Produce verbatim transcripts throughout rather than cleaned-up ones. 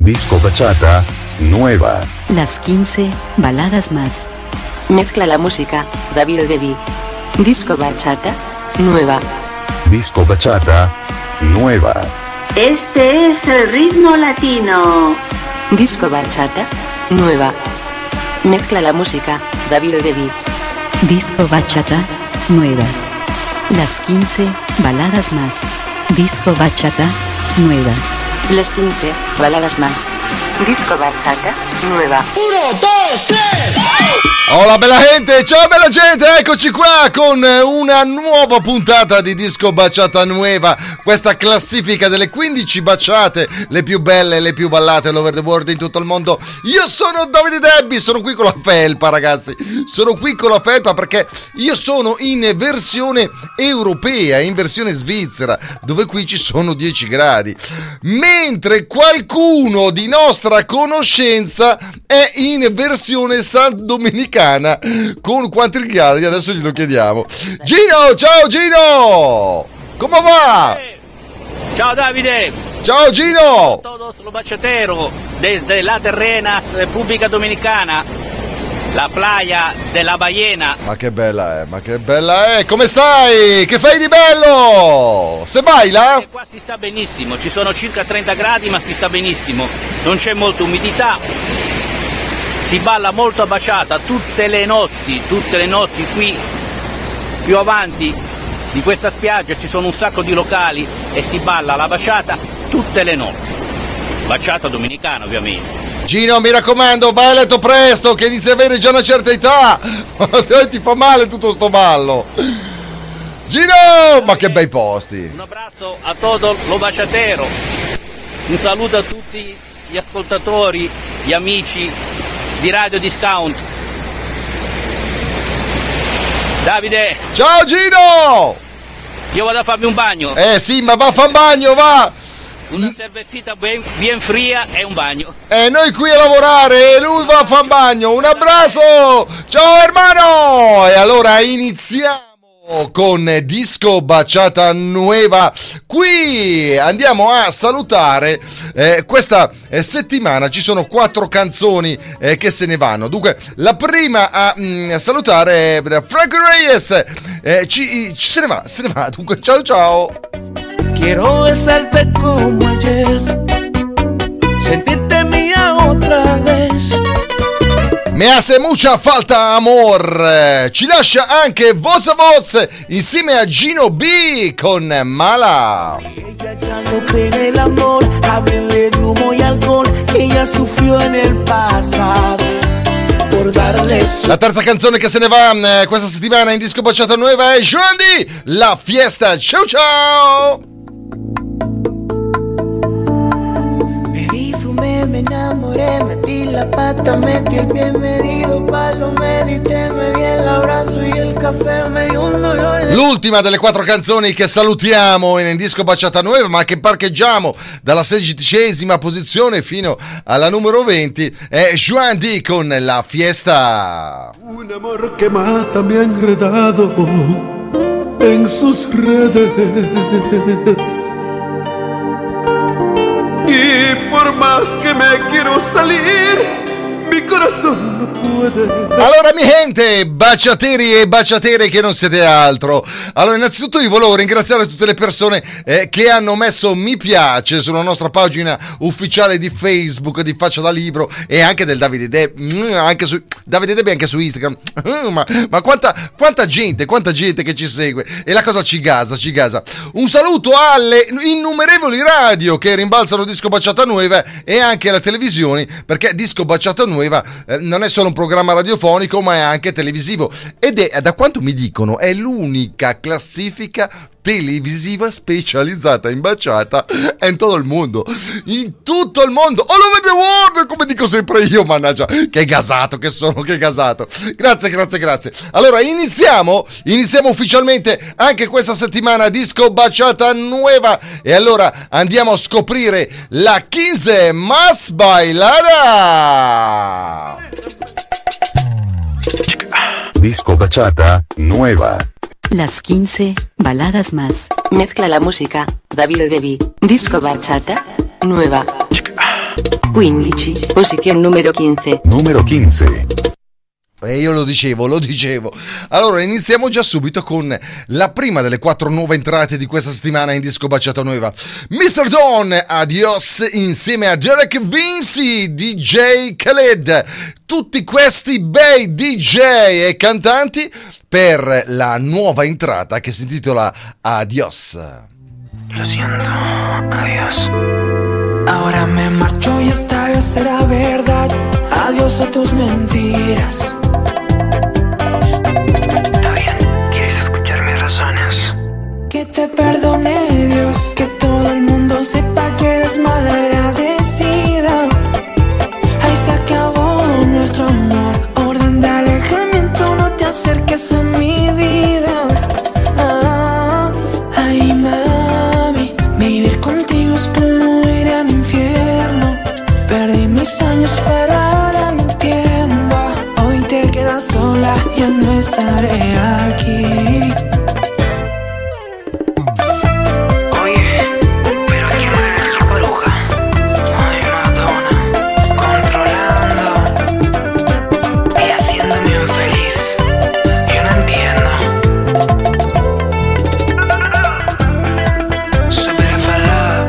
Disco bachata nueva. Las quince baladas más. Mezcla la música, David Debbie. Disco bachata nueva. Disco bachata nueva. Este es el ritmo latino. Disco bachata nueva. Mezcla la música, David Debbie. Disco bachata nueva. Las quince baladas más. Disco bachata nueva. Las quince baladas más. Disco bachata nueva. Uno, dos, tres. Hola bella gente, ciao bella gente, eccoci qua con una nuova puntata di Disco Bachata Nueva, questa classifica delle quindici baciate, le più belle, le più ballate all over the world in tutto il mondo. Io sono Davide Debbie, sono qui con la felpa ragazzi, sono qui con la felpa perché io sono in versione europea, in versione svizzera, dove qui ci sono dieci gradi, mentre qualcuno di nostra conoscenza è in versione San Domenicana. Con quanti gradi? Adesso glielo chiediamo. Gino, ciao Gino! Come va? Ciao Davide! Ciao Gino! Todos los bachateros desde la Terrenas, República Dominicana, la playa della Ballena. Ma che bella è, ma che bella è! Come stai? Che fai di bello? Se baila? E qua si sta benissimo, ci sono circa trenta gradi ma si sta benissimo, non c'è molta umidità. Si balla molto a baciata tutte le notti, tutte le notti qui più avanti di questa spiaggia ci sono un sacco di locali e si balla la baciata tutte le notti. Baciata dominicana ovviamente. Gino, mi raccomando, vai a letto presto che inizi a avere già una certa età. Ti fa male tutto sto ballo. Gino, ma che bei posti. Un abbraccio a todo lo baciatero. Un saluto a tutti gli ascoltatori, gli amici di Radio Discount. Davide, ciao Gino, io vado a farmi un bagno. Eh sì, ma va a far bagno, va. Una cervecita ben, bien fria e un bagno. E noi qui a lavorare e lui va a far bagno. Un abbraccio, ciao hermano. E allora iniziamo con Disco Bachata Nueva. Qui andiamo a salutare eh, questa eh, settimana ci sono quattro canzoni eh, che se ne vanno. Dunque la prima a mh, salutare è Frankie Reyes, eh, ci, ci se ne va, se ne va. Dunque ciao ciao. Quiero besarte como ayer, sentirte mía otra vez. Me hace mucha falta amor. Ci lascia anche voz a voz insieme a Gino B con Mala. Ella ya no cree en el amor, háblenle de humo y alcohol que ella sufrió en el pasado. Por darle su... La terza canzone che se ne va eh, questa settimana in Disco Bachata Nuova è Joan D, La Fiesta. Ciao ciao. Me enamoré, metí la pata, metí el pie medido, palo medité, me di el abrazo y el caffè, me dio un dolor. L'ultima delle quattro canzoni che salutiamo in Disco Bachata Nuova, ma che parcheggiamo dalla sedicesima posizione fino alla numero venti, è Joan D con La Fiesta. Un amor que mata me ha enredado en sus redes. Y por más que me quiero salir, mi corazón no puede. Allora mi gente, baciateri e baciatere che non siete altro. Allora innanzitutto io volevo ringraziare tutte le persone eh, che hanno messo mi piace sulla nostra pagina ufficiale di Facebook di Faccia da Libro e anche del Davide Debbie, anche su Davide Debbie anche su Instagram. Ma, ma quanta, quanta gente, quanta gente che ci segue. E la cosa ci gasa, ci gasa. Un saluto alle innumerevoli radio che rimbalzano Disco Bachata Nuova e anche alla televisione, perché Disco Bachata Nuova eh, non è solo un programma radiofonico ma è anche televisivo ed è, da quanto mi dicono, è l'unica classifica televisiva specializzata in baciata in tutto il mondo, in tutto il mondo, all over the world, come dico sempre io, mannaggia, che gasato che sono, che gasato. Grazie, grazie, grazie. Allora iniziamo, iniziamo ufficialmente anche questa settimana Disco Bachata Nuova e allora andiamo a scoprire la quince más bailada. Disco Bachata Nueva. Las quince baladas más. Mezcla la música, David Debbie. Disco bachata nueva. quindici, posizione numero quindici. Numero quindici. E io lo dicevo, lo dicevo. Allora, iniziamo già subito con la prima delle quattro nuove entrate di questa settimana in Disco Bachata Nuova. mister Don, Adios, insieme a Derek Vinci, D J Khaled. Tutti questi bei D J e cantanti per la nuova entrata che si intitola Adios. Lo siento, adiós. Ahora me marcho y esta vez será verdad. Adiós a tus mentiras. Está bien, ¿quieres escuchar mis razones? Que te perdone Dios, que todo el mundo sepa que eres malagradecida. Ahí se acabó nuestro amor. Orden de alejamiento, no te acerques a mi vida. Ah, ay, mami, vivir contigo es como ir al infierno. Perdí mis años pero ahora me entiendo. Hoy te quedas sola, ya no estaré aquí. Oye, pero aquí no eres bruja. Ay, Madonna, controlando y haciéndome infeliz. Yo no entiendo. Super falada.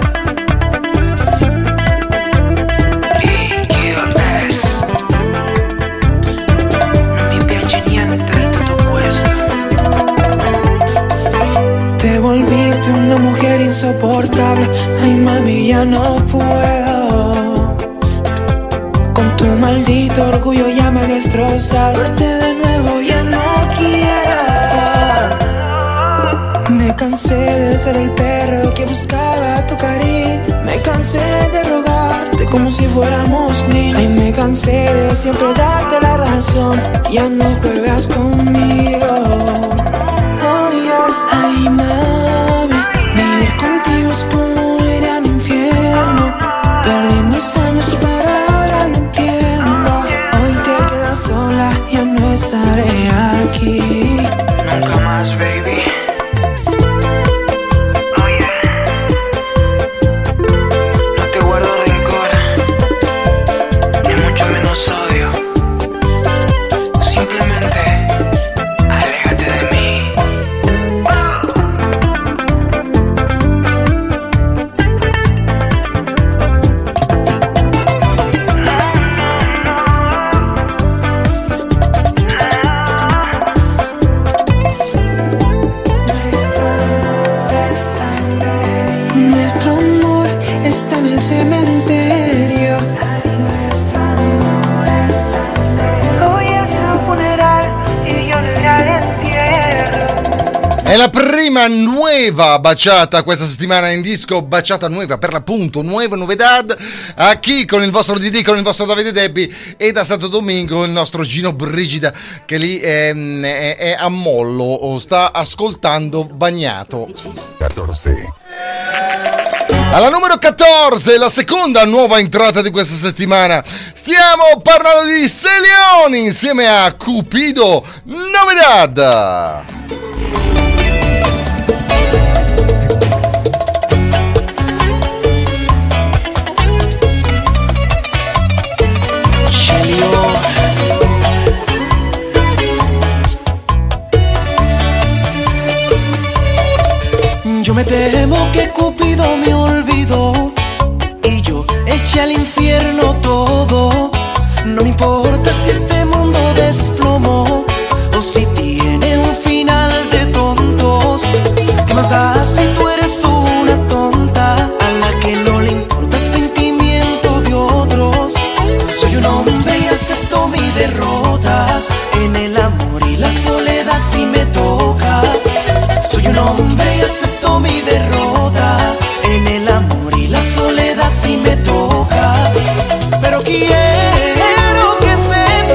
Te volviste una mujer insoportable. Ay, mami, ya no puedo. Con tu maldito orgullo ya me destrozas. Verte de nuevo ya no quiero. Me cansé de ser el perro que buscaba tu cariño. Me cansé de rogarte como si fuéramos niños. Ay, me cansé de siempre darte la razón. Ya no juegas conmigo. Ay, ay, ay, mami, vivir contigo es como ir al infierno. Perdí mis años pero ahora me entiendo. Hoy te quedas sola, ya no estaré aquí. Nunca más, baby. La prima nuova baciata questa settimana in Disco Bachata Nuova, per l'appunto nuova novedad, a chi con il vostro D D, con il vostro Davide Debbi, e da Santo Domingo il nostro Gino Brigida che lì è, è, è a mollo, sta ascoltando bagnato. quattordici. Alla numero quattordici, la seconda nuova entrata di questa settimana, stiamo parlando di Celioni insieme a Cupido Novedad. Yo me temo que Cupido me olvidó y yo eché al infierno todo. No me importa si este mundo desplomó o si tiene un final de tontos. ¿Qué más da si tú eres una tonta a la que no le importa el sentimiento de otros? Soy un hombre y acepto mi derrota. En el amor y la soledad si me toca. Soy un hombre y acepto mi derrota. En el amor y la soledad si me toca. Pero quiero que sepas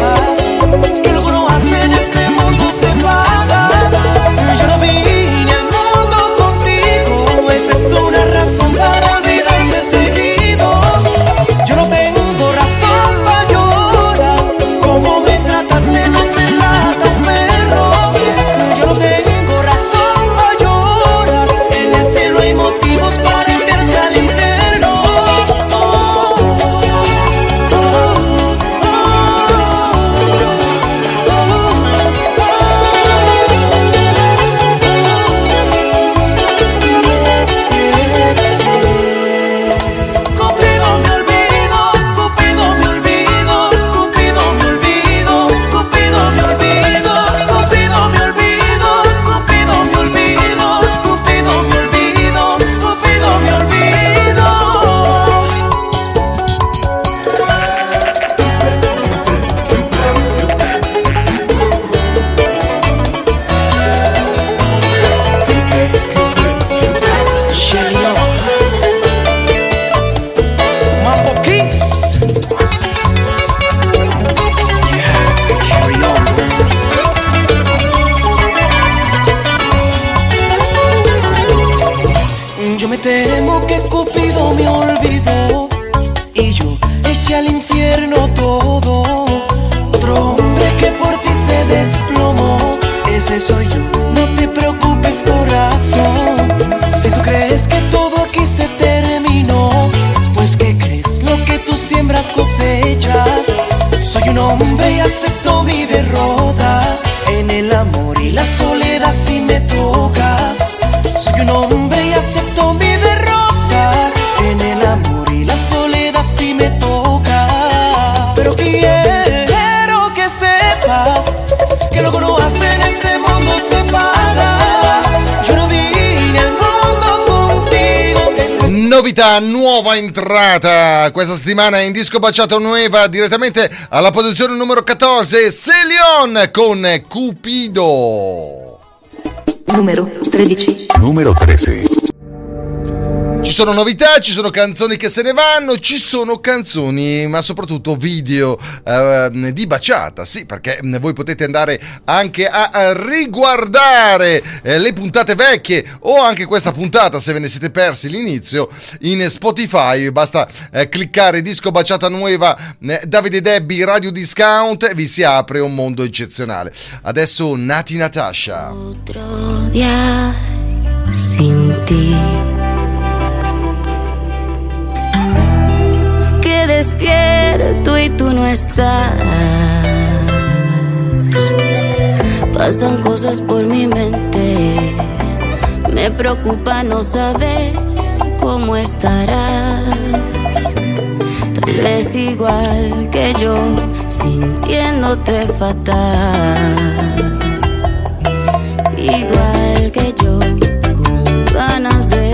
y yo eché al infierno todo. Otro hombre que por ti se desplomó, ese soy yo, no te preocupes corazón. Si tú crees que todo aquí se terminó, pues ¿qué crees? Lo que tú siembras cosechas. Soy un hombre y acepto mi derrota. En el amor y la soledad si me toca. Soy un hombre y acepto mi derrota. En el amor y la soledad si me toca. Pero quiero que sepas que lo que uno hace en este mundo se paga. Yo no vine al mondo contigo. Novità, nuova entrata questa settimana in Disco Baciata Nueva, direttamente alla posizione numero quattordici, Célione con Cupido. Numero tredici. Numero tredici. Ci sono novità, ci sono canzoni che se ne vanno, ci sono canzoni, ma soprattutto video eh, di baciata, sì, perché voi potete andare anche a, a riguardare eh, le puntate vecchie o anche questa puntata, se ve ne siete persi l'inizio, in Spotify. Basta eh, cliccare Disco Baciata Nuova, eh, Davide Debbie, Radio Discount, e vi si apre un mondo eccezionale. Adesso Nati Natasha. Otro día sin ti, que despierto y tú no estás. Pasan cosas por mi mente, me preocupa no saber cómo estarás. Tal vez igual que yo, sintiéndote fatal. Igual que yo, con ganas de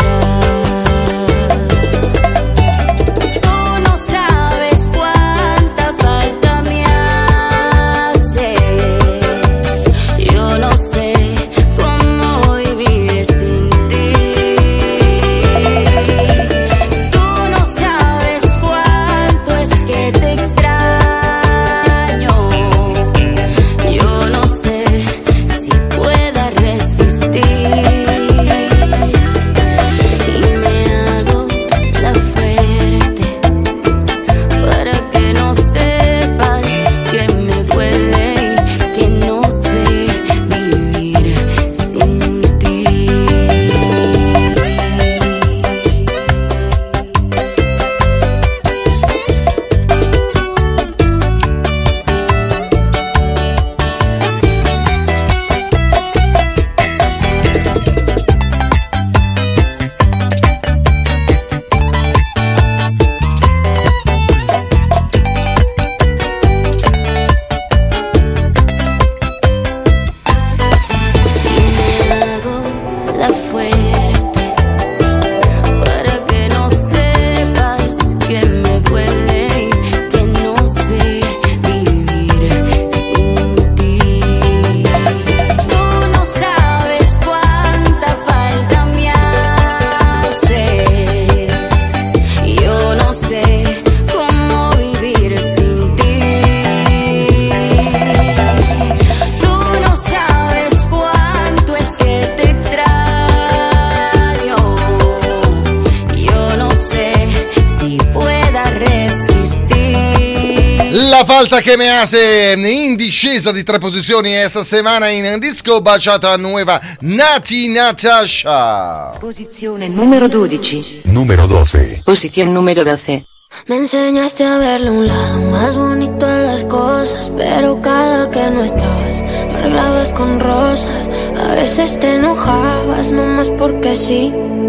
La falta che me hace in discesa di tre posizioni esta settimana in Disco Baciata Nuova, Nati Natasha. Posizione numero dodici. Numero doce. Posición número doce. Me enseñaste a verle un lado más bonito a las cosas, pero cada que no estabas lo arreglabas con rosas. A veces te enojabas nomás porque sí.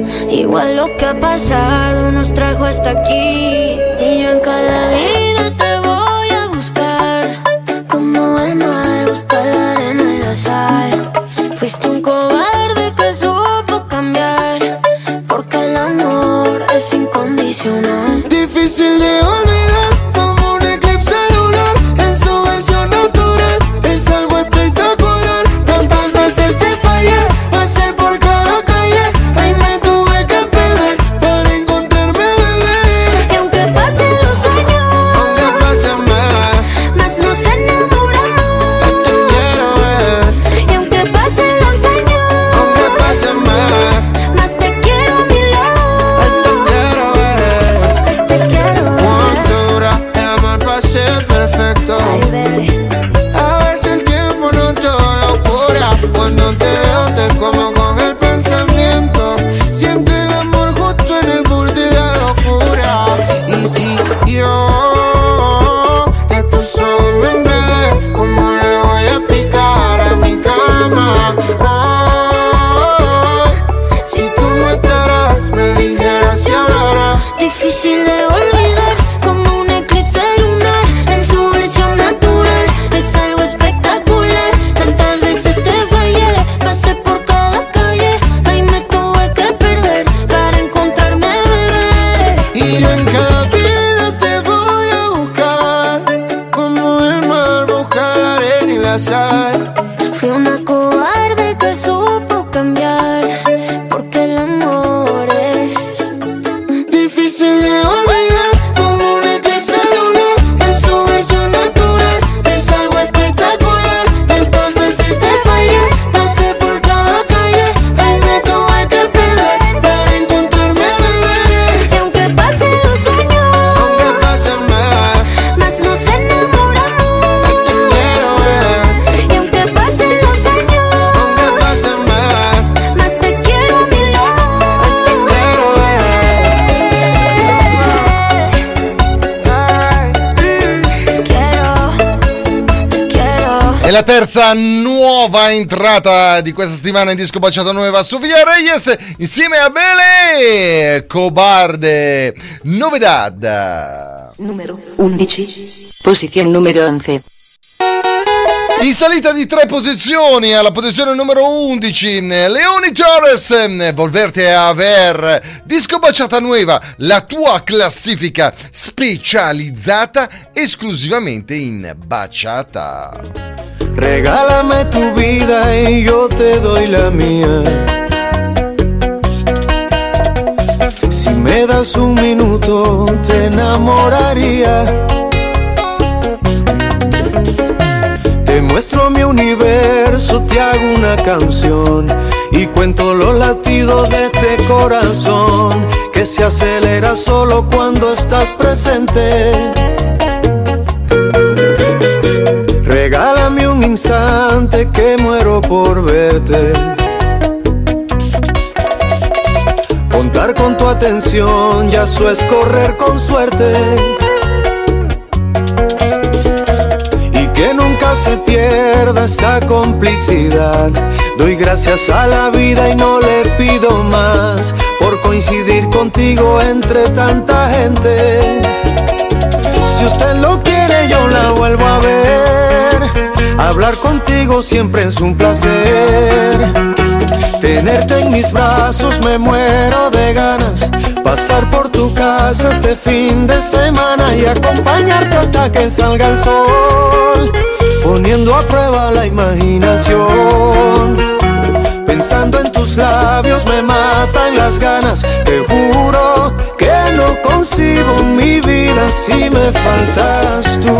Igual lo que ha pasado nos trajo hasta aquí. Y yo en cada vida te voy a buscar, como el mar busca la arena y la sal. Fuiste un cobarde que supo cambiar, porque el amor es incondicional. Difícil de olvidar, como un eclipse lunar, en su versión natural, es algo espectacular. Tantas veces te fallé, pasé por cada calle, ahí me tuve que perder para encontrarme, bebé. Y aunque pasen los años, aunque pasen más, más nos enamoramos. te quiero ver. Y aunque pasen los años, Aunque pasen más, más te quiero a mi lado. te quiero ver. Te quiero olvidar como un eclipse lunar en su versión natural. Es algo espectacular. Tantas veces te fallé, pasé por cada calle, ahí me tuve que perder para encontrarme, bebé. Y en cada vida te voy a buscar, como el mar busca la arena y la sal. Fui una cobarde que supo cambiar, porque el amor es difícil de olvidar, como un eclipse lunar en su versión natural. Es algo espectacular. Tantas veces te fallé, pasé por cada calle, ahí me tuve que perder para encontrarme, bebé. Y aunque pasen los años, Aunque pasen más, más nos enamoramos. te quiero ver. Y aunque pasen los años, Aunque pasen más, más te quiero a mi lado. te quiero ver. Mm, quiero, te quiero. È la terza nuova entrata di questa settimana in Disco Baciata Nuova su Via Reyes insieme a Bele Cobarde. Novedad. Numero undici. Posición número once. In salita di tre posizioni alla posizione numero undici, Leoni Torres, Volverte a ver. Disco Baciata Nuova, la tua classifica specializzata esclusivamente in baciata. Regálame tu vida y yo te doy la mía. Si me das un minuto te enamoraría. Te muestro mi universo, te hago una canción y cuento los latidos de este corazón que se acelera solo cuando estás presente. Regálame un instante que muero por verte. Contar con tu atención, ya eso es correr con suerte. Y que nunca se pierda esta complicidad. Doy gracias a la vida y no le pido más por coincidir contigo entre tanta gente. Si usted lo quiere yo la vuelvo a ver. Hablar contigo siempre es un placer. Tenerte en mis brazos me muero de ganas. Pasar por tu casa este fin de semana y acompañarte hasta que salga el sol, poniendo a prueba la imaginación. Pensando en tus labios me matan las ganas. Te juro que no concibo mi vida si me faltas tú.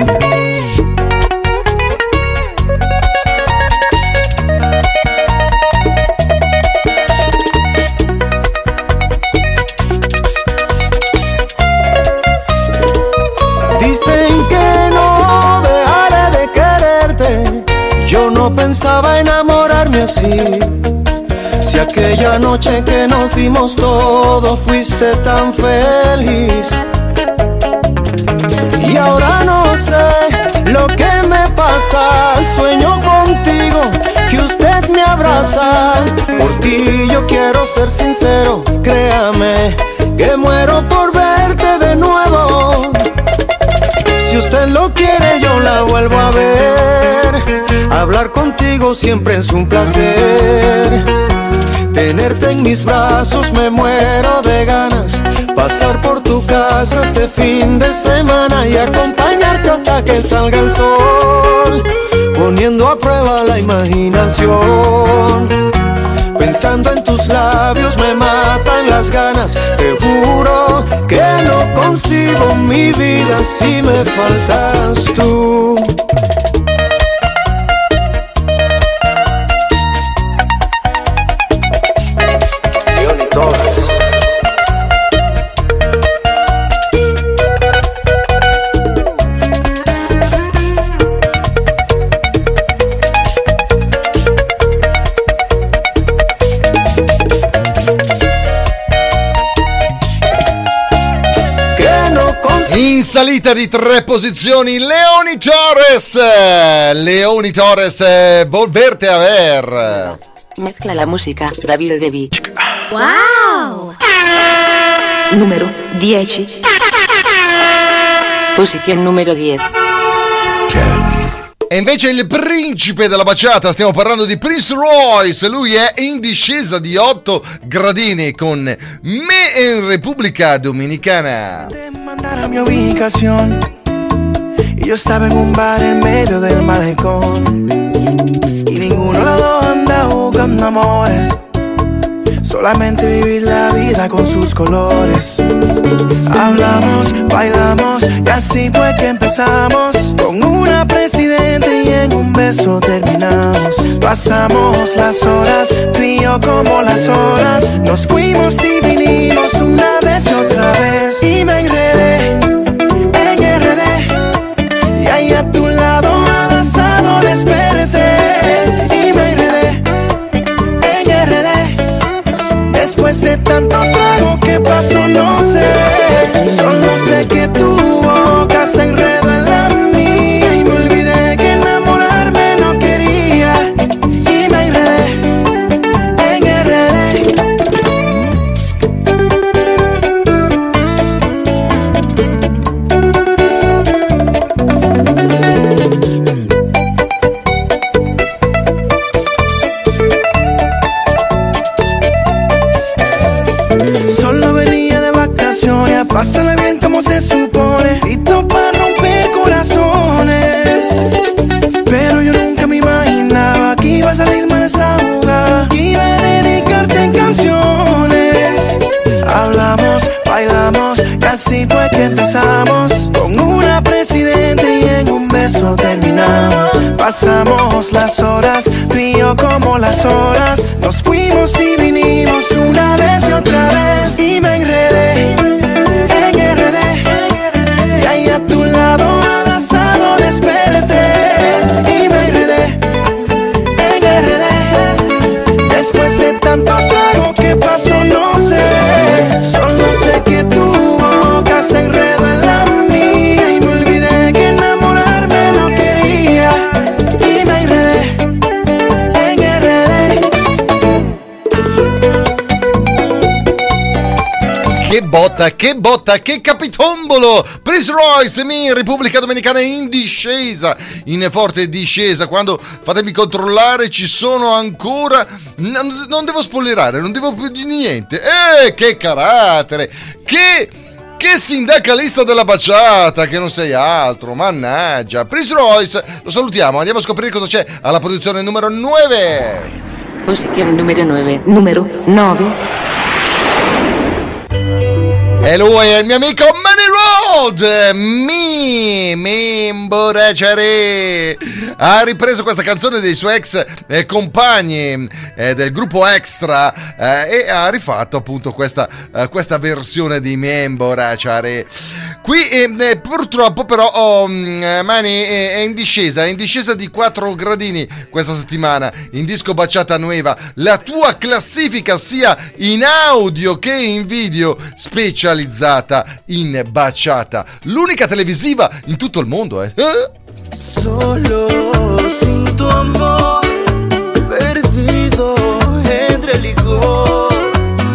Dicen que no dejaré de quererte. Yo no pensaba enamorarme así. Si aquella noche que nos dimos todo fuiste tan feliz. Y ahora no sé lo que me pasa. Sueño contigo, que usted me abraza. Por ti yo quiero ser sincero. Créame que muero por verte de nuevo. Si usted lo quiere yo la vuelvo a ver. Hablar contigo siempre es un placer. Tenerte en mis brazos me muero de ganas. Pasar por tu casa este fin de semana y acompañarte hasta que salga el sol, poniendo a prueba la imaginación. Pensando en tus labios me matan las ganas. Te juro que no concibo mi vida si me faltas tú. In salita di tre posizioni, Leoni Torres. Leoni Torres, Volverte a ver. Mezcla la música, David Devi. ¡Wow! Numero dieci. Posizione numero dieci. E invece il principe della baciata, stiamo parlando di Prince Royce, lui è in discesa di otto gradini con Me in República Dominicana. Mandar a mi ubicación y yo estaba en un bar en medio del malecón y ninguno de los dos anda buscando amores, solamente vivir la vida con sus colores. Hablamos, bailamos y así fue que empezamos, con una presidente y en un beso terminamos. Pasamos las horas, tú y yo como las olas, nos fuimos y vinimos una vez y otra vez. Y me enredé en R D y ahí a tu lado abrazado desperté. Y me enredé en R D después de tanto trago, ¿qué pasó? No sé, solo sé que tu boca se enredó en la mía y me olvidé que enamorarme no quería. Y me enredé en R D. Solo venía de vacaciones a pasarla bien como se supone, listo para romper corazones. Pero yo nunca me imaginaba que iba a salir mal esta jugada, que iba a dedicarte en canciones. Hablamos, bailamos y así fue que empezamos, con una presidente y en un beso terminamos. Pasamos las horas, tú y yo como las olas, nos fuimos y vinimos una vez y otra vez. Y me enredé en R D y ahí a tu lado abrazado desperté. Y me enredé en R D después de tanto trago, ¿qué pasó? No sé, solo sé que tu boca se enredó en la mía y me olvidé que enamorarme no quería. Y me enredé en R D. Che botta, che botta, che capitombolo! Prince Royce, in Repubblica Dominicana in discesa, in forte discesa. Quando, fatemi controllare, ci sono ancora... Non, non devo spoilerare, non devo più di niente. Eh, che carattere! Che... Che sindacalista della baciata, che non sei altro, mannaggia. Prince Royce, lo salutiamo, andiamo a scoprire cosa c'è alla posizione numero nove. Posizione numero nove. Numero nove. E lui è il mio amico Manny Road. Mi, mi imborracciare. Ha ripreso questa canzone dei suoi ex eh, compagni eh, del gruppo Extra eh, e ha rifatto appunto questa, eh, questa versione di Mi imborracciare. Qui eh, purtroppo però oh, Mani è, è in discesa, è in discesa di quattro gradini questa settimana in disco Baciata Nueva. La tua classifica sia in audio che in video specializzata in baciata, l'unica televisiva in tutto il mondo, eh? Solo sin tu amor, perdido entre el licor,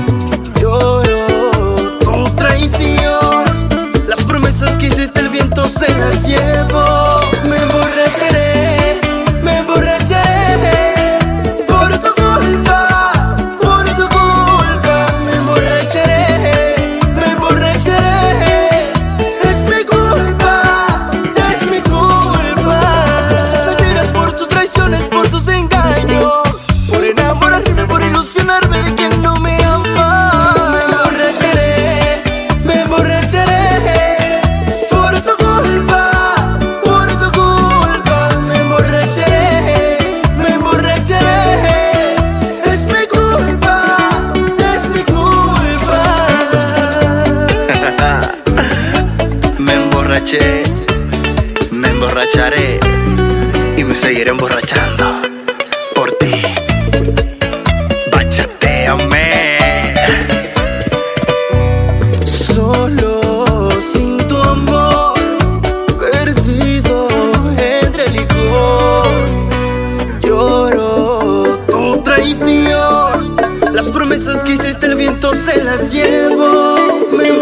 lloro tu traición, las promesas que hiciste el viento se las llevo. Me emborracharé, me emborracharé por tu culpa, por tu culpa. Me emborracharé, me emborracharé, es mi culpa, es mi culpa. Me tiras por tus traiciones, por tus engaños, por enamorarme, por ilusionarme de quien no me ama. Me emborracharé, me emborracharé por tu culpa, por tu culpa. Me emborracharé, me emborracharé, es mi culpa, es mi culpa. Me emborraché, me emborracharé y me seguiré emborrachando por ti. Bachateame. Solo sin tu amor, perdido entre el licor, lloro tu traición, las promesas que hiciste el viento se las llevo. Me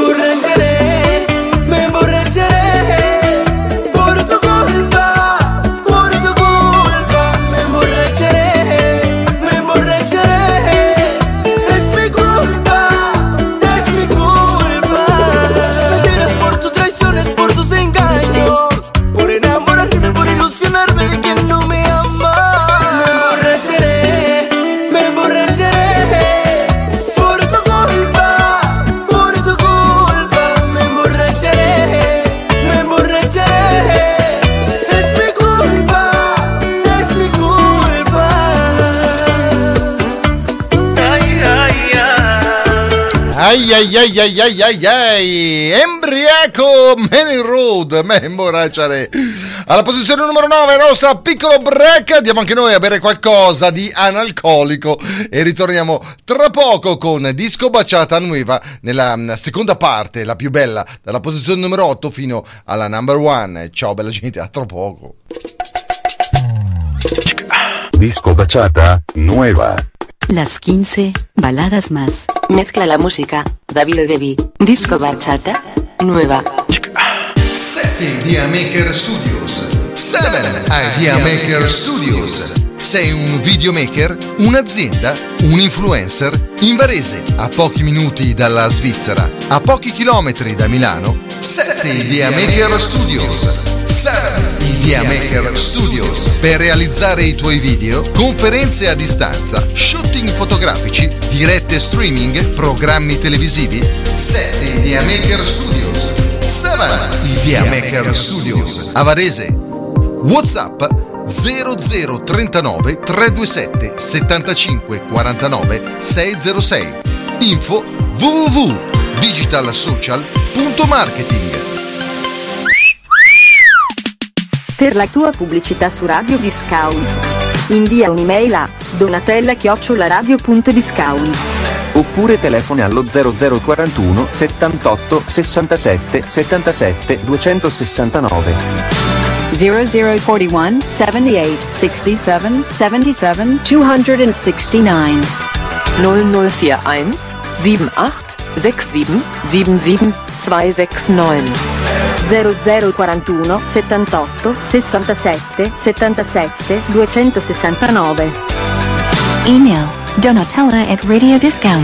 Ai ai ai ai ai ai ai, embriaco Many Road, me imborracciare. Alla posizione numero nove, Rosa Piccolo Break. Andiamo anche noi a bere qualcosa di analcolico e ritorniamo tra poco con Disco Baciata Nueva nella seconda parte, la più bella, dalla posizione numero otto fino alla number one. Ciao bella gente, a tra poco. Disco Bachata Nueva. Las quince baladas más. Mezcla la música, David Devi. Disco Bachata Nueva. sette Idea Maker Studios. sette Idea Maker Studios. Sei un videomaker, un'azienda, un influencer? In Varese, a pochi minuti dalla Svizzera, a pochi chilometri da Milano, sette Idea Maker Studios. sette Idea Maker Studios. Per realizzare i tuoi video, conferenze a distanza, shooting fotografici, dirette streaming, programmi televisivi, sette Idea Maker Studios. sette Idea Maker Studios. A Varese. WhatsApp zero zero trentanove trecentoventisette settantacinque quarantanove seicentosei. Info w w w punto digitalsocial punto marketing. Per la tua pubblicità su Radio Discount, invia un'email a donatella chiocciola radio punto discount. Oppure telefoni allo zero zero quarantuno settantotto sessantasette settantasette duecentosessantanove. zero zero forty-one seventy-eight sixty-seven seventy-seven two sixty-nine. null null einundvierzig siebenundachtzig siebenundsiebzig siebenundsiebzig zweihundertneun. zero zero quarantuno settantotto sessantasette settantasette duecentosessantanove. Email Donatella at Radio Discount.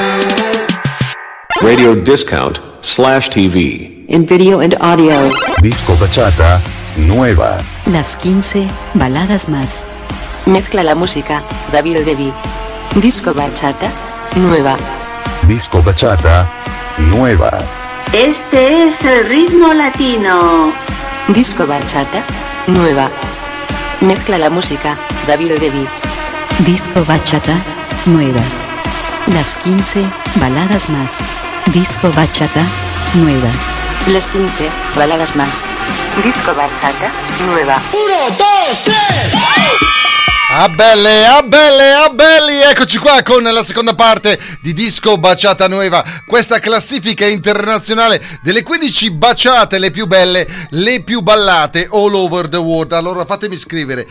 Radio Discount slash T V. In video and audio. Disco Bachata Nueva. Las quince baladas más. Mezcla la música, David Devi. Disco Bachata Nueva. Disco Bachata Nueva. Este es el ritmo latino. Disco Bachata Nueva. Mezcla la música, David Devi. Disco Bachata Nueva. Las quince baladas más. Disco Bachata Nueva. Las quince baladas más. Disco Bachata Nueva. Uno, dos, tres. Ah belle, ah belle, ah belli, eccoci qua con la seconda parte di Disco Baciata Nueva, questa classifica internazionale delle quindici baciate, le più belle, le più ballate all over the world. Allora fatemi scrivere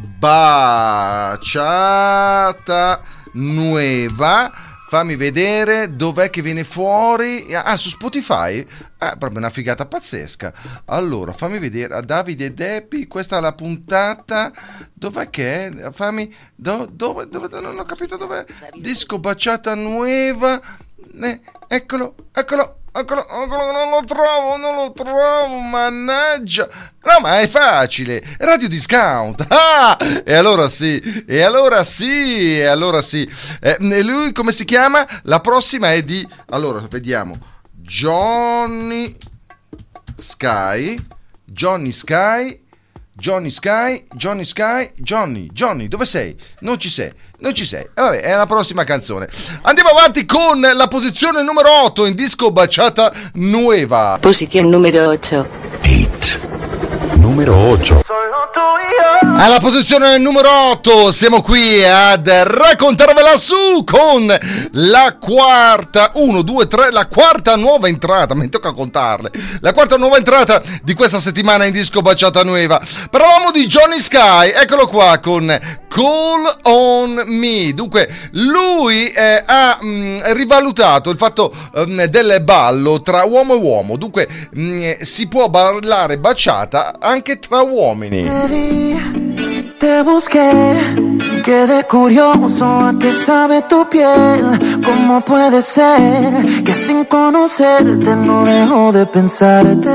Baciata Nueva, fammi vedere dov'è che viene fuori. Ah, su Spotify? Ah, proprio una figata pazzesca. Allora, fammi vedere a Davide Deppi, questa è la puntata. Dov'è che è? Fammi do, dove, dove non ho capito dov'è. Disco Baciata Nueva. Eh, eccolo, eccolo. Eccolo, eccolo, non lo trovo, non lo trovo, mannaggia. No, ma è facile, Radio Discount. Ah, e allora sì, e allora sì, e allora sì. Eh, lui come si chiama? La prossima è di, allora, vediamo. Johnny Sky, Johnny Sky, Johnny Sky, Johnny Sky, Johnny, Johnny, dove sei? Non ci sei, non ci sei. E vabbè, è la prossima canzone. Andiamo avanti con la posizione numero otto in Disco Baciata Nueva. Posizione numero otto. Hit numero otto. Alla posizione numero otto siamo qui ad raccontarvela su con la quarta, uno, due, tre, la quarta nuova entrata, mi tocca contarle, la quarta nuova entrata di questa settimana in Disco Baciata Nueva. Parlavamo di Johnny Sky, eccolo qua con Call on Me. Dunque lui eh, ha mh, rivalutato il fatto mh, del ballo tra uomo e uomo, dunque mh, si può ballare baciata anche tra uomini. Te busqué, quedé curioso a qué sabe tu piel. ¿Cómo puede ser que sin conocerte no dejo de pensarte?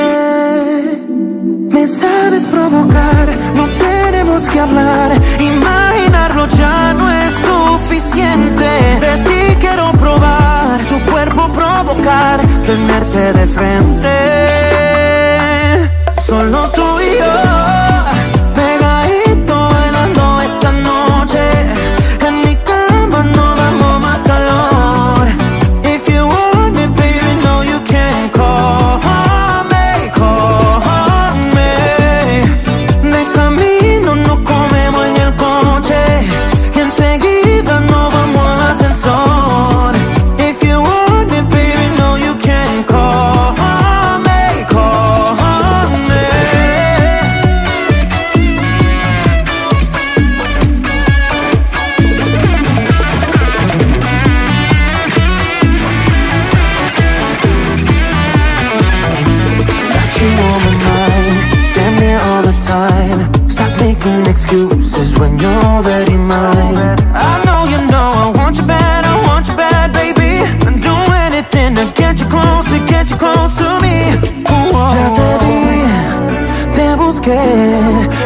Me sabes provocar, no tenemos que hablar. Imaginarlo ya no es suficiente. De ti quiero probar, tu cuerpo provocar, tenerte de frente. Solo tú y yo, pegadito bailando esta noche. En mi cama no damos más calor. If you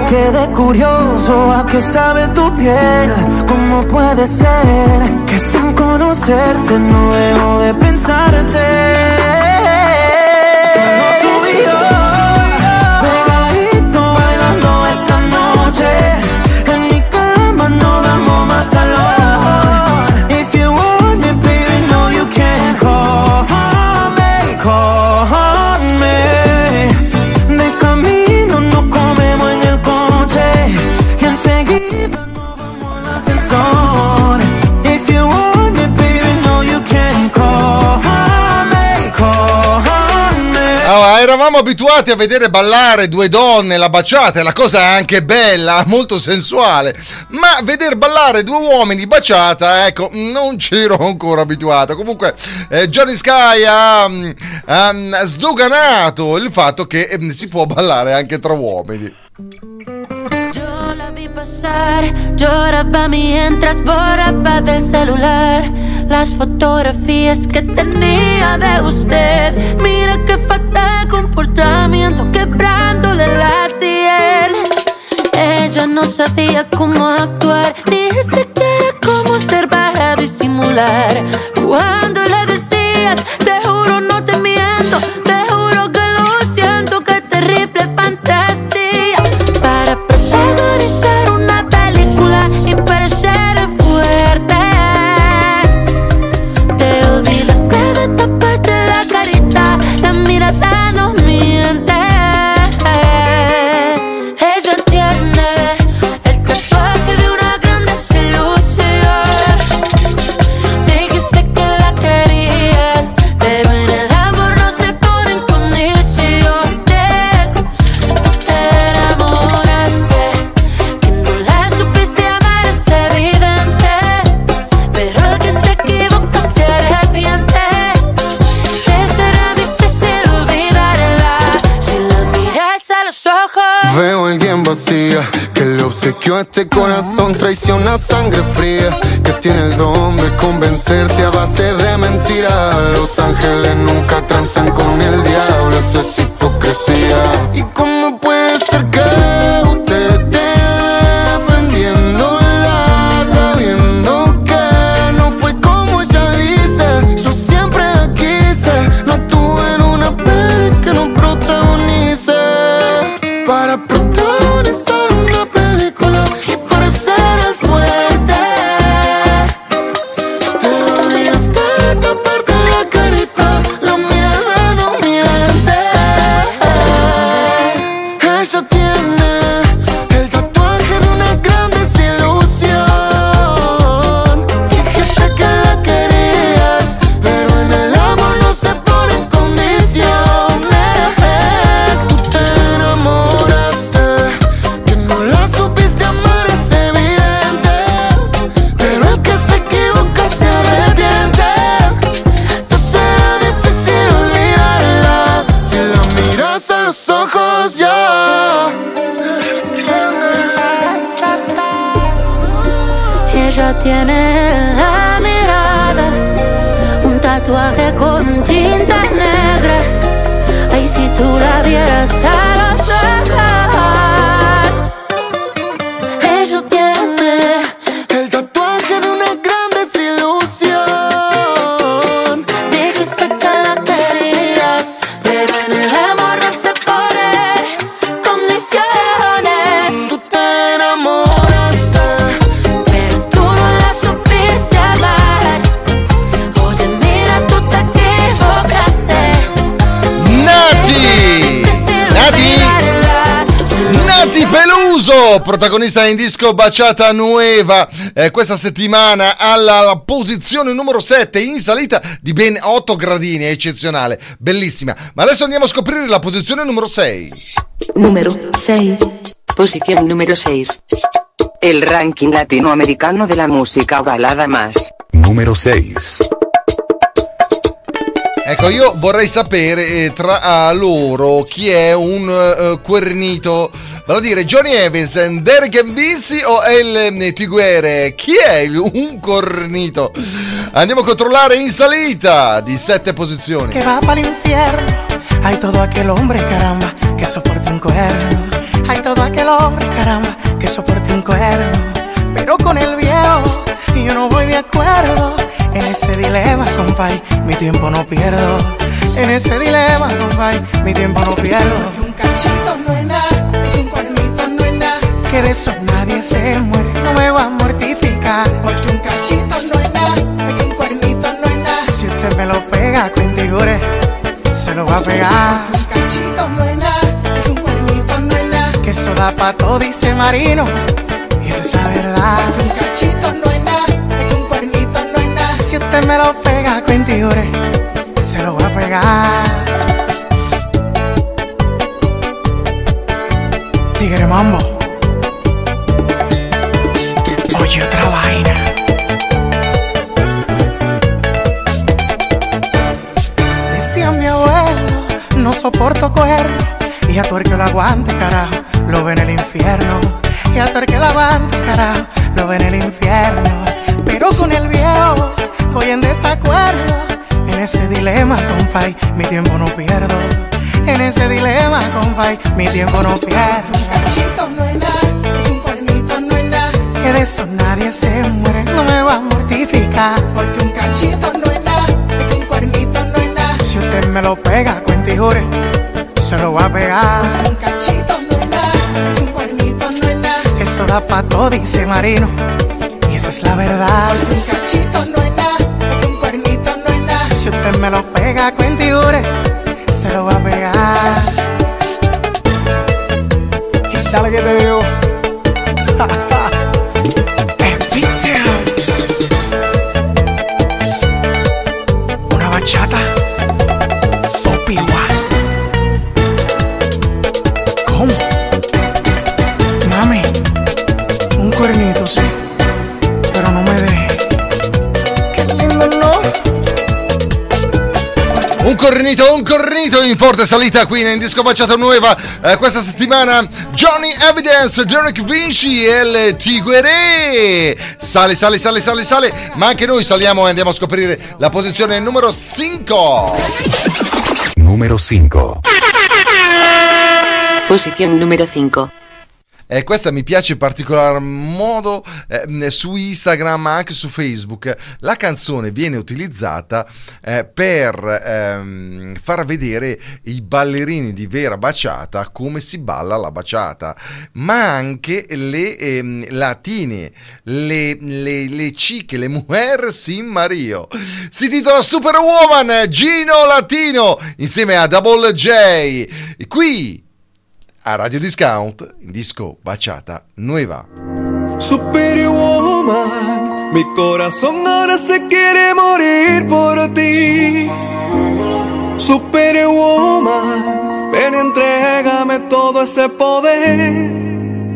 quedé curioso a qué sabe tu piel. ¿Cómo puede ser que sin conocerte no dejo de pensarte? Solo tú y yo, pegadito bailando esta noche. En mi cama no damos más calor. If you want me, baby, no you can't call me, call me. Del camino nos comemos en el coche y enseguida nos vamos al ascensor. If you want me, baby, no you can't call me, call me. Allora, eravamo abituati a vedere ballare due donne, la baciata, e la cosa è anche bella, molto sensuale, ma veder ballare due uomini baciata, ecco, non c'ero ancora abituato. Comunque eh, Johnny Sky ha, ha sdoganato il fatto che eh, si può ballare anche tra uomini. Yo la vi pasar, lloraba mientras borraba del celular las fotografías que tenía de usted. Mira qué fatal comportamiento, quebrándole la sien. Ella no sabía cómo actuar, ni siquiera cómo ser para disimular. Cuando le decías, te juro no te miento, te juro que lo siento, qué terrible fantasía. Para protagonizar una película y parecer fuerte, te olvidaste de taparte la carita, la mirada no miente. Ella tiene el tatuaje de una gran desilusión. Dijiste que la querías, pero en el amor no se ponen condiciones. Tú te enamoraste, que no la supiste amar es evidente, pero el que se equivoca se arrepiente. Que será difícil olvidarla si la miras a los ojos. Veo a alguien vacía que le obsequió este corazón, traiciona sangre fría, que tiene el don de convencerte a base de mentiras. Los ángeles nunca transan con el diablo, eso es hipocresía. ¿Y cómo puede ser que usted esté defendiéndola sabiendo que no fue como ella dice? Yo siempre la quise, no estuve en una peli que no protagonice. Para protagonizar una película y parecer el fuerte, te olvidaste de taparte la carita, la mirada no miente. Ella tiene el tatuaje de una gran desilusión. Dijiste que la querías, pero en el amor no se ponen condiciones. Tú te enamoraste, que no la supiste amar es evidente, pero el que se equivoca se arrepiente. Entonces será difícil olvidarla si la miras a los ojos ya. Ella tiene en la mirada un tatuaje con tinta negra. Ay, si tú la vieras a los ojos. Ella tiene el tatuaje de una gran desilusión. Dijiste que la querías, pero en el amor no se ponen condiciones. Tú te enamoraste, Pero tú no la supiste amar. Oye, mira, tú te equivocaste. Nati! Nati! Nati Peluso, protagonista in disco Baciata Nueva, eh, questa settimana alla posizione numero sette, in salita di ben otto gradini, è eccezionale, bellissima. Ma adesso andiamo a scoprire la posizione numero sei. Número seis. Posición número seis. El ranking latinoamericano de la música balada más. Número seis. Ecco, io vorrei sapere eh, tra loro chi è un uh, cuernito, vale a dire Johnny Evans, Derek Mbisi o El Tiguere. Chi è il, un cornito? Andiamo a controllare in salita di sette posizioni. Que va para el infierno. Hay todo aquel hombre, caramba, que soporta un cuerno. Hay todo aquel hombre, caramba, caramba, que soporte un cuerno. Pero con el viejo yo no voy de acuerdo. En ese dilema, compay, mi tiempo no pierdo. En ese dilema, compay, mi tiempo no pierdo. Porque un cachito no es nada, que un cuernito no es nada, que de eso nadie se muere, no me va a mortificar. Porque un cachito no es nada, que un cuernito no es nada, si usted me lo pega, cuentigure, se lo va a pegar. Un cachito no es nada, que un cuernito no es nada, que eso da pa' todo, dice Marino, y esa es la verdad. Un cachito no es nada, que un cuernito no es nada, si usted me lo pega, cuentigure, se lo va a pegar. Tigre Mambo, oye otra vaina. Decía mi abuelo, no soporto cuerno, y a todo el que lo aguante, carajo, lo ve en el infierno. Y a todo el que lo aguante, carajo, lo ve en el infierno. Pero con el viejo voy en desacuerdo. En ese dilema, compay, mi tiempo no pierdo. En ese dilema, compay, mi tiempo no pierdo. Un cachito no es nada, que un cuernito no es nada, que de eso nadie se muere, no me va a mortificar. Porque un cachito no es nada, que un cuernito no es nada, si usted me lo pega, cuente y jure, se lo va a pegar. Porque un cachito no es nada, que un cuernito no es nada, eso da pa' todo, dice Marino, y esa es la verdad. Porque un cachito no es nada, que un cuernito no es nada, si usted me lo pega, cuente y jure, se lo va a pegar. Y dale que te digo. Una bachata. Obi-Wan. ¿Cómo? Mami, un cuernito, sí, pero no me deje. Qué lindo, ¿no? Un cornito, un cornito in forte salita qui in Disco Baciata Nuova eh, questa settimana. Johnny Evidence, Derek Vinci e il Tiguere. Sale, sale, sale, sale, sale. Ma anche noi saliamo e andiamo a scoprire la posizione numero cinque. Numero cinque. Posición número cinque. E eh, questa mi piace in particolar modo eh, su Instagram ma anche su Facebook. La canzone viene utilizzata eh, per ehm, far vedere i ballerini di vera baciata come si balla la baciata, ma anche le ehm, latine, le, le, le chique, le mujer sin Mario. Si titola Superwoman, Gino Latino insieme a Double J qui a Radio Discount, in Disco Baciata Nueva. Superwoman, mi corazón ahora se quiere morir por ti. Superwoman, ven y entrégame todo ese poder.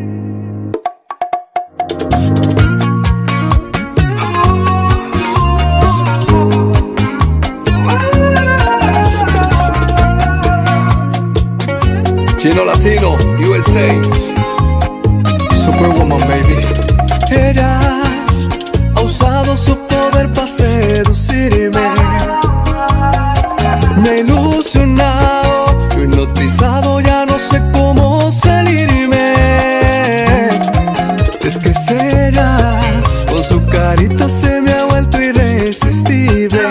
Chino Latino, U S A, Superwoman, baby. Ella ha usado su poder para seducirme. Me he ilusionado, y hipnotizado, ya no sé cómo salirme. Es que es ella, con su carita se me ha vuelto irresistible.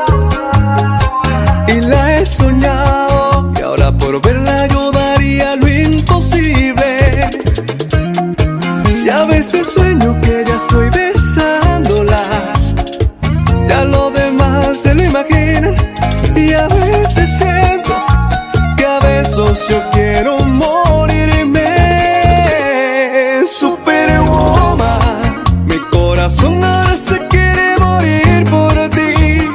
Y la he soñado, y ahora por verla yo daría lo imposible. Y a veces sueño que ya estoy besándola, ya lo demás se lo imaginan. Y a veces siento que a besos yo quiero morirme. Superwoman, mi corazón ahora se quiere morir por ti.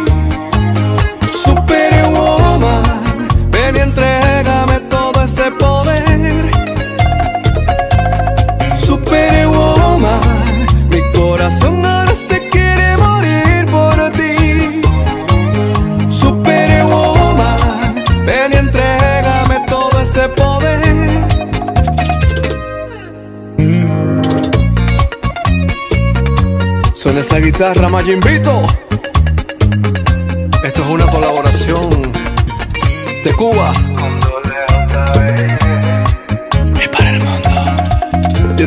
Superwoman, ven y entrégame todo ese poder. Superwoman, mi corazón ahora se quiere morir por ti. Superwoman, ven y entrégame todo ese poder. Suena esa guitarra, Majimbito. Esto es una colaboración de Cuba y para el mundo.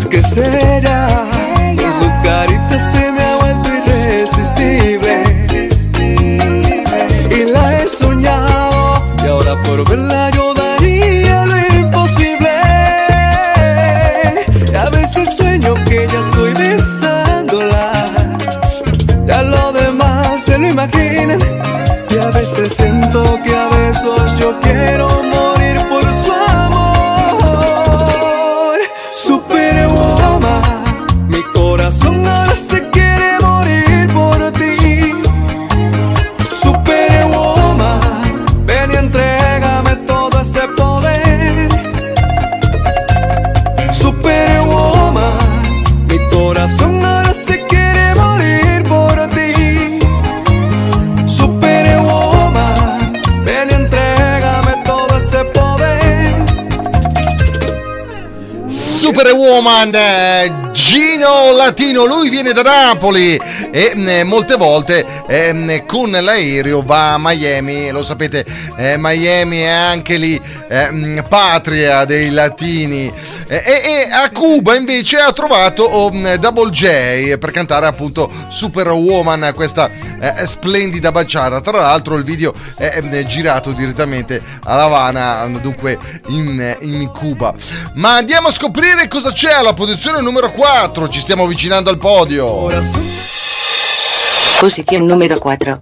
Superwoman, eh, Gino Latino, lui viene da Napoli e eh, molte volte eh, con l'aereo va a Miami, lo sapete, eh, Miami è anche lì eh, patria dei latini, eh, e, e a Cuba invece ha trovato oh, Double J per cantare appunto Superwoman, questa eh, splendida bachata. Tra l'altro il video è, è girato direttamente a La Habana, dunque in, in Cuba. Ma andiamo a scoprire cosa c'è alla posizione numero quattro, ci stiamo avvicinando al podio. Posizione numero quattro.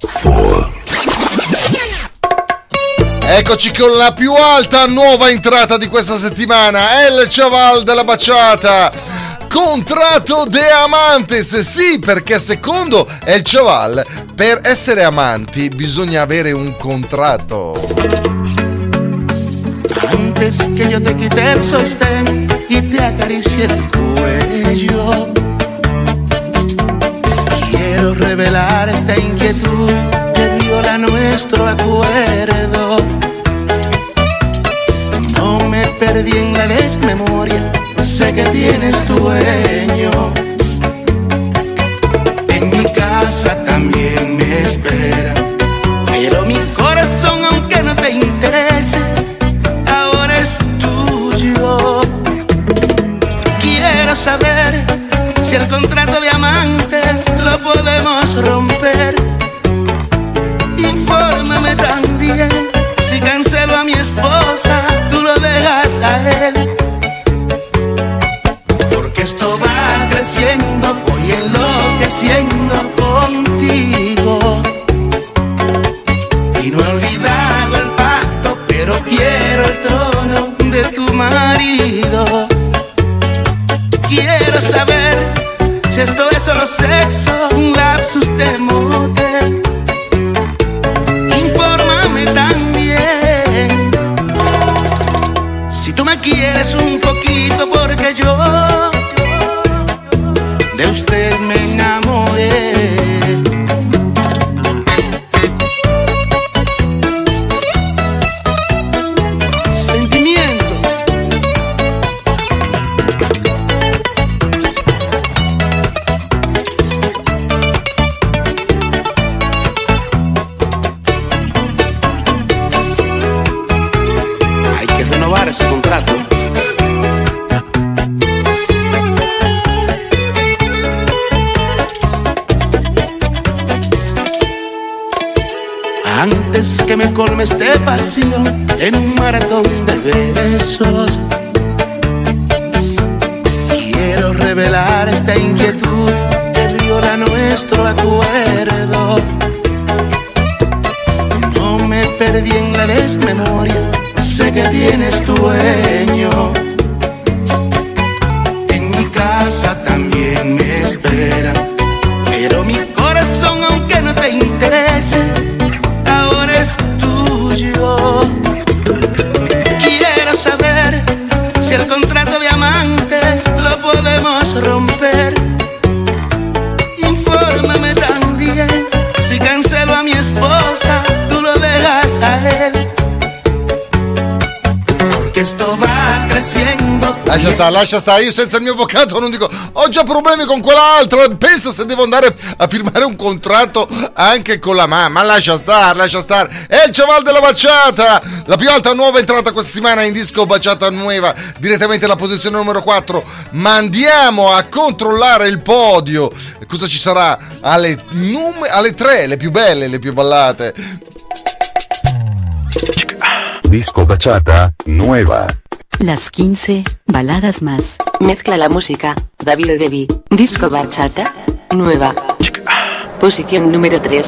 Eccoci con la più alta nuova entrata di questa settimana, El Chaval della Bachata, Contrato de Amantes. Sì, perché secondo El Chaval per essere amanti bisogna avere un contratto. Antes que yo te quite el sostén y te acaricie el cuello, quiero revelar esta inquietud que viola nuestro acuerdo. No me perdí en la desmemoria, sé que tienes dueño. En mi casa también me espera, pero mi corazón, aunque no te interese, ahora es tuyo. Quiero saber si el contrato de amantes lo podemos romper. Infórmame también si cancelo a mi esposa, tú lo dejas a él. Porque esto va creciendo, voy enloqueciendo contigo. Y no he olvidado el pacto, pero quiero el trono de tu marido. Quiero saber si esto es solo sexo, un lapsus de motel. Infórmame también si tú me quieres un poquito, porque yo de usted me enamoré. Ese contrato. Antes que me colmes de pasión en un maratón de besos, quiero revelar esta inquietud que viola nuestro acuerdo. No me perdí en la desmemoria, sé que tienes dueño. En mi casa también me espera, pero mi corazón, aunque no te interese, ahora es tuyo. Quiero saber si el contrato de amantes lo podemos romper. Infórmame también si cancelo a mi esposa, tú lo dejas a él. Che sto va crescendo. Lascia stare, lascia stare, io senza il mio avvocato non dico ho già problemi con quell'altra, pensa se devo andare a firmare un contratto anche con la mamma. Lascia stare, lascia stare. È il Chaval della Bachata, la più alta nuova entrata questa settimana in disco Bachata Nueva, direttamente alla posizione numero quattro. Ma andiamo a controllare il podio, cosa ci sarà alle, num- alle tre, le più belle, le più ballate. Disco Bachata Nueva. Las quince baladas más. Mezcla la música, David Devi. Disco Bachata Nueva. Posición número tres.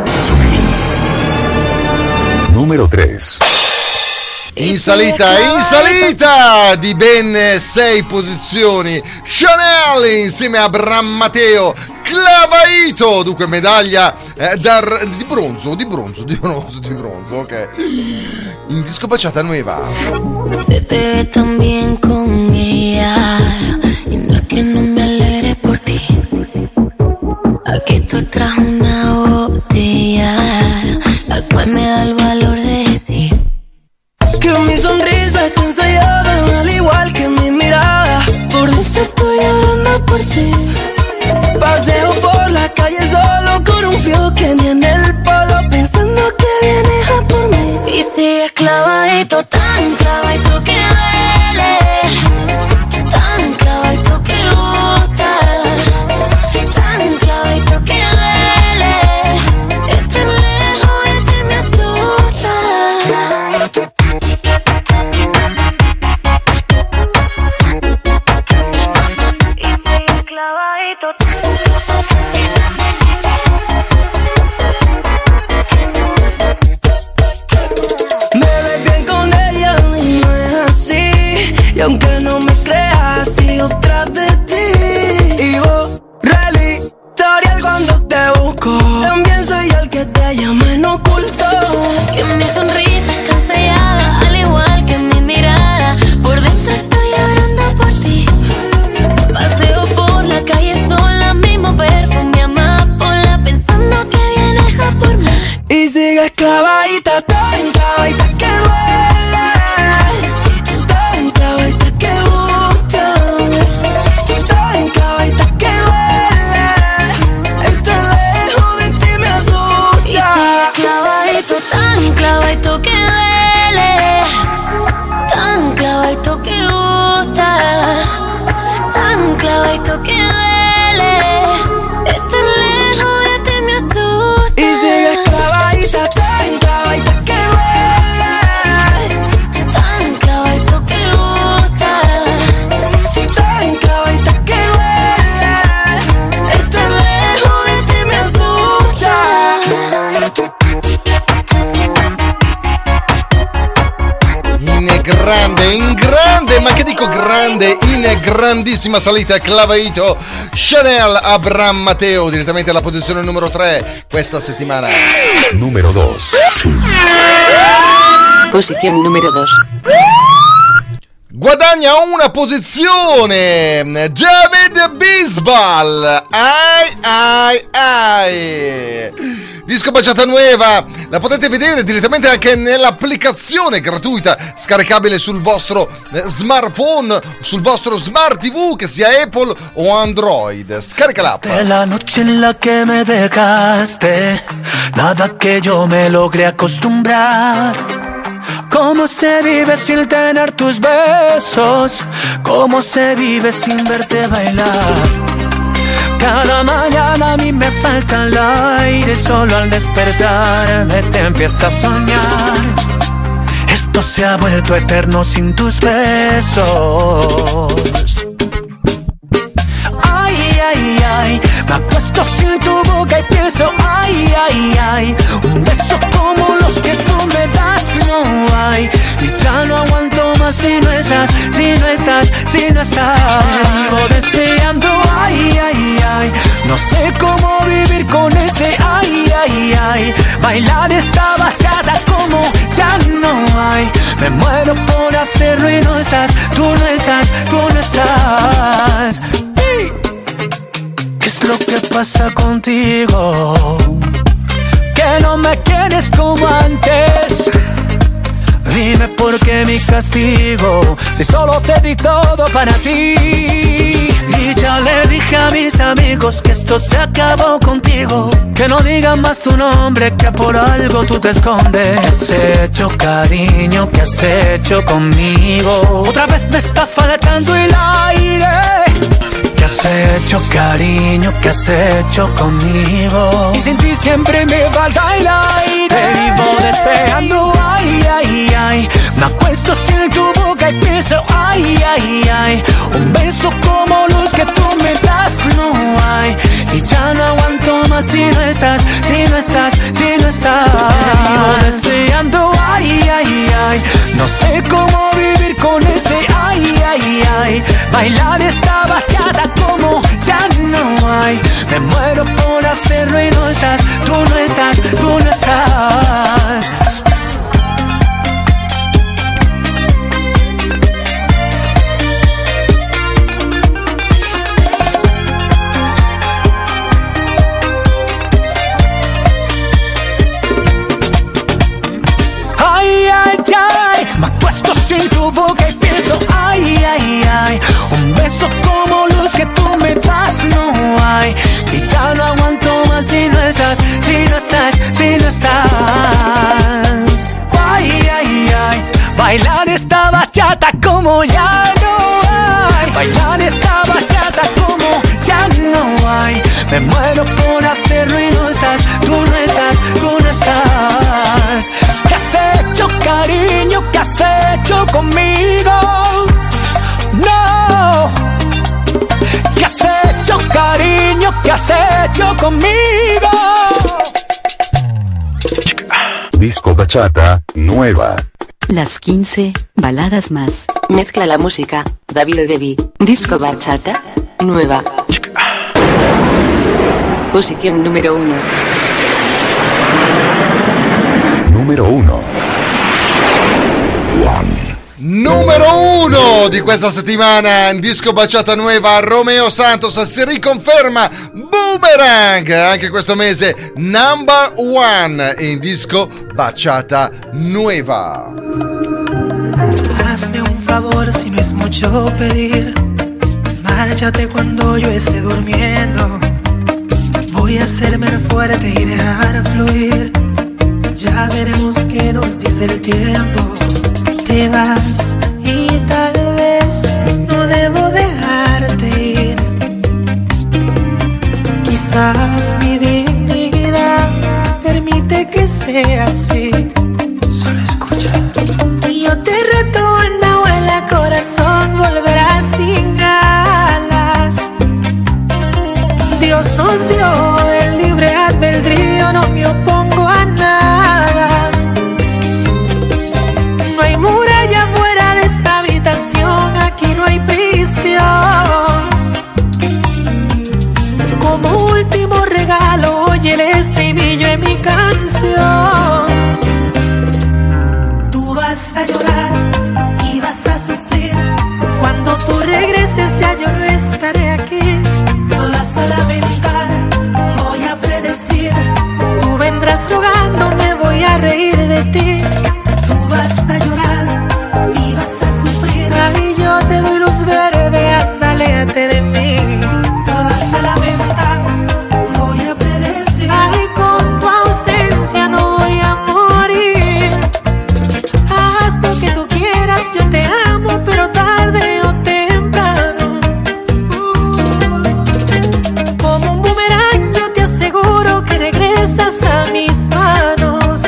Número tres. In salita, in salita di ben sei posizioni, Chanel insieme a Bram Matteo, Clavaito, dunque medaglia eh, dar, di bronzo, di bronzo, di bronzo, di bronzo, ok. In disco Bachata Nueva. Se te ve tan bien con ella, y no es que no me alegre por ti. Aquí tú traes una botella, la cual me da el valor de decir que mi sonrisa está ensayada, al igual que mi mirada. clavadito, tan clavadito que duele, tan clavadito que gusta, tan clavadito que duele. Estar lejos de ti me asusta. Clavadito. Me ves bien con ella y no es así. Y aunque no me creas, sigo tras de ti. Y borra el historial cuando te busco. También soy yo el que te llama en oculto. Que mi sonrisa está sellada, al igual que mi mirada. Por dentro estoy llorando por ti. Paseo por la calle sola, mismo perfume amapola, pensando que vienes a por mí. Y sigues clavadita, tan clavadita que duele, tan clavadita que gusta, tan clavadita que duele. Estar lejos de ti me asusta. Y sigues clavadito, tan clavadito que duele, tan clavadito que gusta, tan clavadito que duele. Estar lejos de ti me asusta. Y sigues clavadita, tan clavadita que duele, tan clavadito que gusta, tan clavadita que duele. Estar lejos de ti me asusta. In grande, in grande, ma che dico grande, in grandissima salita, clavadito, Chanel Abraham Matteo, direttamente alla posizione numero tre questa settimana. Número dos. Posición número dos. Guadagna una posizione David Bisbal. Ai ai ai. Disco Bachata Nueva, la potete vedere direttamente anche nell'applicazione gratuita scaricabile sul vostro smartphone, sul vostro smart tivù, che sia Apple o Android. Scarica l'app. De la noche en la que me dejaste, nada que yo me logré acostumbrar. ¿Cómo se vive sin tener tus besos? ¿Cómo se vive sin verte bailar? Cada mañana a mí me falta el aire, solo al despertarme te empiezo a soñar. Esto se ha vuelto eterno sin tus besos. Ay, ay, ay, me acuesto sin tu boca y pienso, ay, ay, ay, un beso como los que tú me das no hay. Y ya no aguanto más si no estás, si no estás, si no estás. Te vivo deseando, ay, ay, ay, no sé cómo vivir con ese, ay, ay, ay. Bailar esta bachata como ya no hay. Me muero por hacerlo y no estás, tú no estás, tú no estás. ¿Qué es lo que pasa contigo? Que no me quieres como antes. Dime por qué mi castigo, si solo te di todo para ti. Y ya le dije a mis amigos que esto se acabó contigo. Que no digan más tu nombre, que por algo tú te escondes. ¿Qué has hecho, cariño? ¿Qué has hecho conmigo? Otra vez me está faltando el aire. ¿Qué has hecho, cariño? ¿Qué has hecho conmigo? Y sin ti siempre me falta el aire. Te vivo deseando, ay, ay, ay. Me acuesto sin tu boca y pienso, ay, ay, ay. Un beso como los que tú me das no hay. Y ya no aguanto más si no estás, si no estás, si no estás. Te vivo deseando, ay, ay, ay. No sé cómo vivir con ese, ay, ay, ay. Bailar esta bachata como ya no hay. Me muero por hacerlo y no estás, tú no estás, tú no estás. Ay, ay, ay, me acuesto sin tu boca y pienso, ay, ay, ay. Un beso como los que tú me das no hay. Y ya no aguanto más si no estás, si no estás, si no estás. Ay, ay, ay, Bailar esta bachata como ya no hay. Bailar esta bachata como ya no hay. Me muero por hacerlo y no estás, tú no estás, tú no estás. ¿Qué has hecho, cariño? ¿Qué has hecho conmigo? No. ¿Qué has hecho, cariño? ¿Qué has hecho conmigo? Disco bachata nueva. Las quince baladas más. Mezcla la música, David Debbie. Disco bachata nueva. Posición número uno. Número uno. Numero uno di questa settimana in disco bachata nuova, Romeo Santos si riconferma Boomerang anche questo mese number one in disco bachata nueva. Hazme un favor si no es mucho pedir, márchate cuando yo esté durmiendo. Voy a hacerme fuerte y dejar fluir, ya veremos qué nos dice el tiempo. Te vas y tal vez no debo dejarte ir. Quizás mi dignidad permite que sea así. Solo escucha. Y yo te reto en la abuela, corazón volverá sin alas. Dios nos dio el libre albedrío, no me opongo a nada. No hay muralla fuera de esta habitación, aquí no hay prisión. Como último regalo, oye el estribillo en mi canción. Tú vas a llorar y vas a sufrir. Cuando tú regreses ya yo no estaré aquí. Vas a lamentar, voy a predecir. Tú vendrás rogando, me voy a reír de ti. Tú vas a llorar y vas a sufrir. Ay, yo te doy luz verde, anda, aléjate de mí. Tú vas a lamentar, voy a predecir. Ay, con tu ausencia no voy a morir. Haz lo que tú quieras, yo te amo, pero tarde o temprano. Como un boomerang yo te aseguro que regresas a mis manos.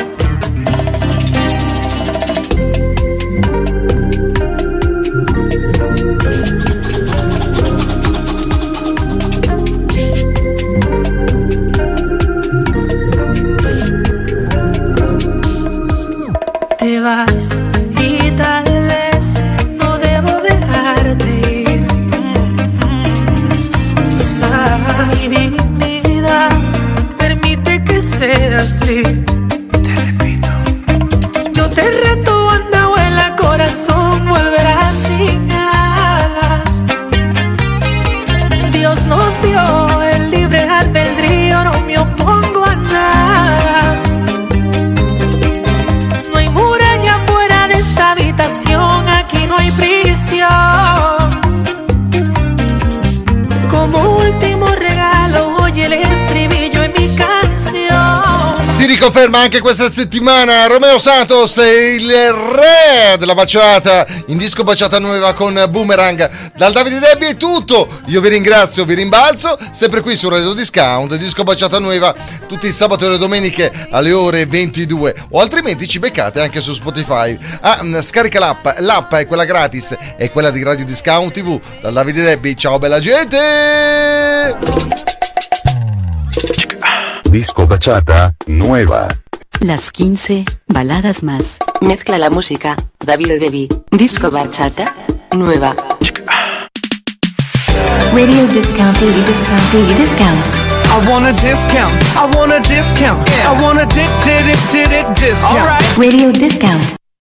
Te vas y tal vez no debo dejarte ir. Quizás mi dignidad permite que sea así. Te repito. Yo te reto, anda, vuela, corazón volverá sin alas. Dios nos dio el libre albedrío, no me opongo a nada. No hay muralla fuera de esta habitación, aquí no hay prisión. Como último regalo, oye el estribillo en mi canción. Si riconferma anche questa settimana Romeo Santos, il re della baciata in disco bachata nuova con Boomerang. Dal Davide Debbie è tutto, io vi ringrazio, vi rimbalzo, sempre qui su Radio Discount, disco bachata nuova tutti i sabati e le domeniche alle ore ventidue, o altrimenti ci beccate anche su Spotify. Ah, scarica l'app, l'app è quella gratis, è quella di Radio Discount tivù. Dal Davide Debbie, ciao bella gente. Disco bachata nueva. Las quince baladas más. Mezcla la música, David Debbie. Disco bachata nueva. Radio discount, daily discount, daily discount. I want a discount. I want a discount. Yeah. I want a di di di di discount. All right. Radio discount.